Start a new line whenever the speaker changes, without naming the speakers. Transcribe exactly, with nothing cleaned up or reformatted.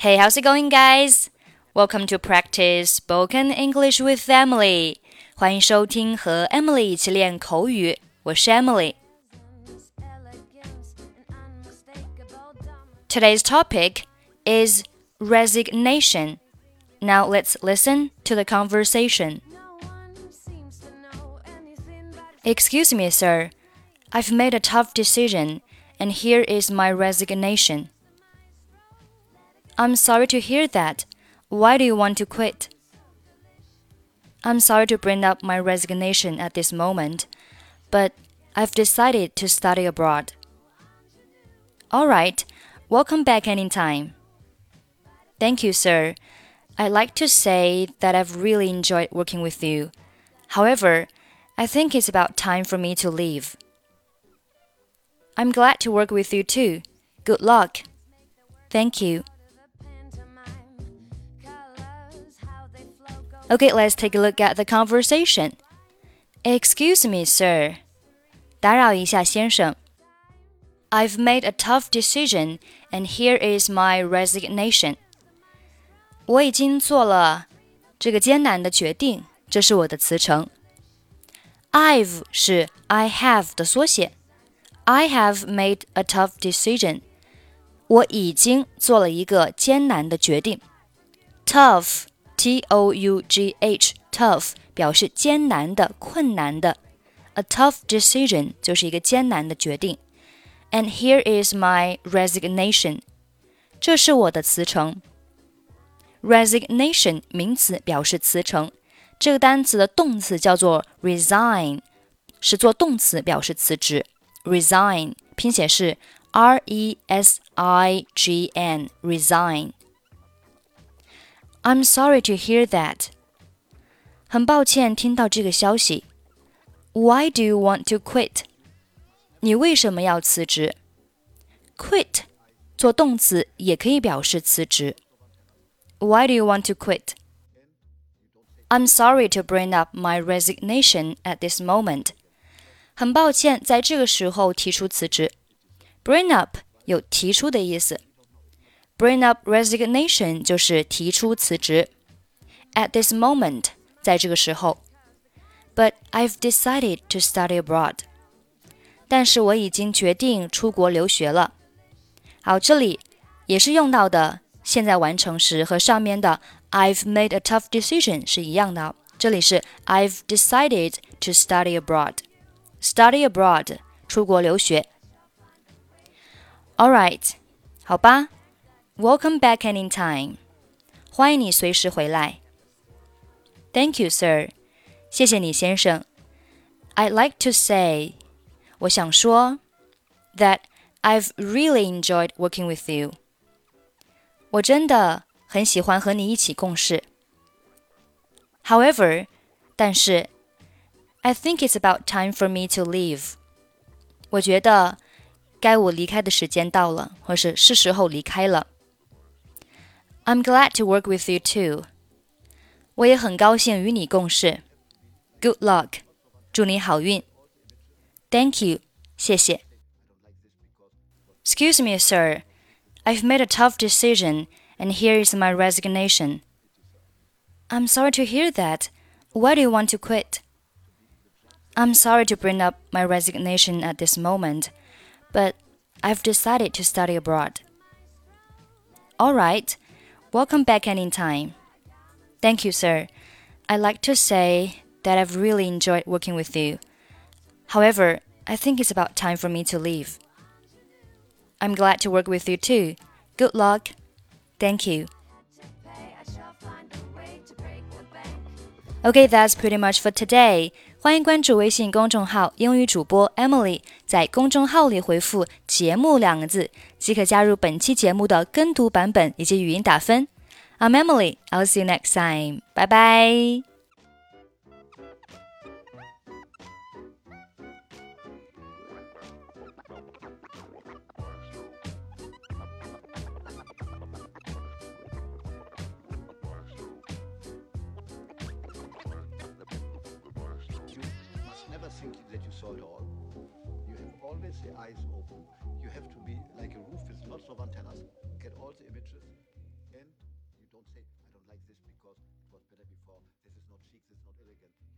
Hey, how's it going, guys? Welcome to practice spoken English with Emily. 欢迎收听和 Emily 一起练口语，我是 Emily。Today's topic is resignation. Now let's listen to the conversation. Excuse me, sir. I've made a tough decision, and here is my resignation.I'm sorry to hear that. Why do you want to quit? I'm sorry to bring up my resignation at this moment, but I've decided to study abroad. All right, welcome back anytime. Thank you, sir. I'd like to say that I've really enjoyed working with you. However, I think it's about time for me to leave. I'm glad to work with you too. Good luck. Thank you.Okay, let's take a look at the conversation. Excuse me, sir. 打扰一下，先生。I've made a tough decision, and here is my resignation. 我已经做了这个艰难的决定，这是我的辞呈。I've 是 I have 的缩写。I have made a tough decision. 我已经做了一个艰难的决定。Tough T O U G H, tough 表示艰难的、困难的。A tough decision 就是一个艰难的决定。And here is my resignation. 这是我的辞呈。Resignation 名词表示辞呈，这个单词的动词叫做 resign， 是做动词表示辞职。Resign 拼写是 R E S I G N, resign.I'm sorry to hear that. 很抱歉听到这个消息。Why do you want to quit? 你为什么要辞职？ Quit 做动词也可以表示辞职。Why do you want to quit? I'm sorry to bring up my resignation at this moment. 很抱歉在这个时候提出辞职。Bring up 有提出的意思。Bring up resignation 就是提出辞职。At this moment 在这个时候。But I've decided to study abroad. 但是我已经决定出国留学了。好，这里也是用到的现在完成时和上面的 I've made a tough decision 是一样的。这里是 I've decided to study abroad. Study abroad 出国留学。Alright, 好吧。Welcome back anytime. 欢迎你随时回来。Thank you, sir. 谢谢你，先生。I'd like to say, 我想说 that I've really enjoyed working with you. 我真的很喜欢和你一起共事。However, 但是 I think it's about time for me to leave. 我觉得该我离开的时间到了，或是是时候离开了。I'm glad to work with you too. 我也很高兴与你共事。Good luck. 祝你好运。Thank you. 谢谢。Excuse me, sir. I've made a tough decision, and here is my resignation. I'm sorry to hear that. Why do you want to quit? I'm sorry to bring up my resignation at this moment, but I've decided to study abroad. All right.Welcome back anytime. Thank you, sir. I'd like to say that I've really enjoyed working with you. However, I think it's about time for me to leave. I'm glad to work with you too. Good luck. Thank you. Okay, that's pretty much for today. 欢迎关注微信公众号英语主播 Emily， 在公众号里回复节目两个字即可加入本期节目的跟读版本以及语音打分。I'm Emily. I'll see you next time. Bye bye.
Never think that you saw it all. You have always the eyes open. You have to be like a roof with lots of antennas. Get all the images. say, I don't like this because it was better before. This is not chic, this is not elegant.